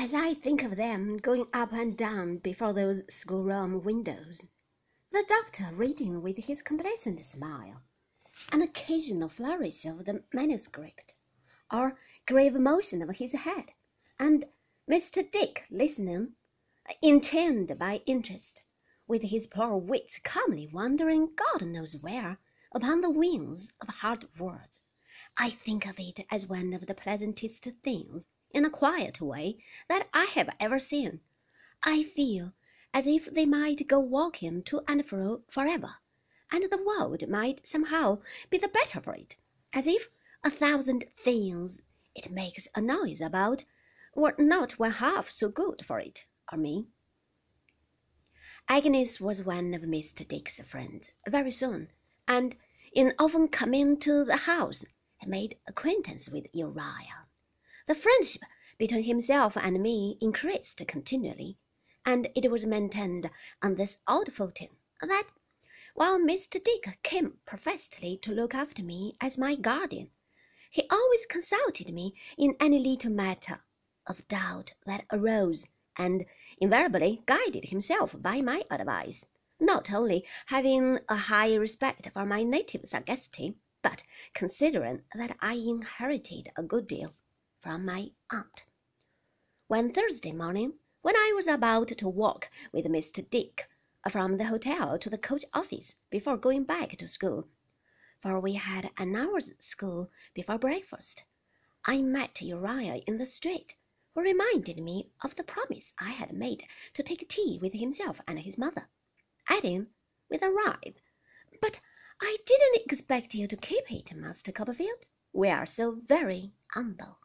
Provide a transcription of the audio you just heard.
as I think of them going up and down before those schoolroom windows, the doctor reading with his complacent smile, an occasional flourish of the manuscript, or grave motion of his head, and Mr. Dick listening, enchained by interest, with his poor wits calmly wandering God knows where upon the wings of hard words, I think of it as one of the pleasantest things, in a quiet way, that I have ever seen. I feel as if they might go walking to and fro forever, and the world might somehow be the better for it, as if 1,000 things it makes a noise about were not one half so good for it or me. Agnes was one of Mr. Dick's friends very soon, and in often coming to the house had made acquaintance with Uriah. The friendship between himself and me increased continually, and it was maintained on this odd footing that, while Mr. Dick came professedly to look after me as my guardian, he always consulted me in any little matter of doubt that arose, and invariably guided himself by my advice, not only having a high respect for my native sagacity, but considering that I inherited a good deal from my aunt. One Thursday morning, when I was about to walk with Mr. Dick from the hotel to the coach office before going back to school, for we had an hour's school before breakfast, I met Uriah in the street, who reminded me of the promise I had made to take tea with himself and his mother, adding, with a writhe, "But I didn't expect you to keep it, Master Copperfield. We are so very humble."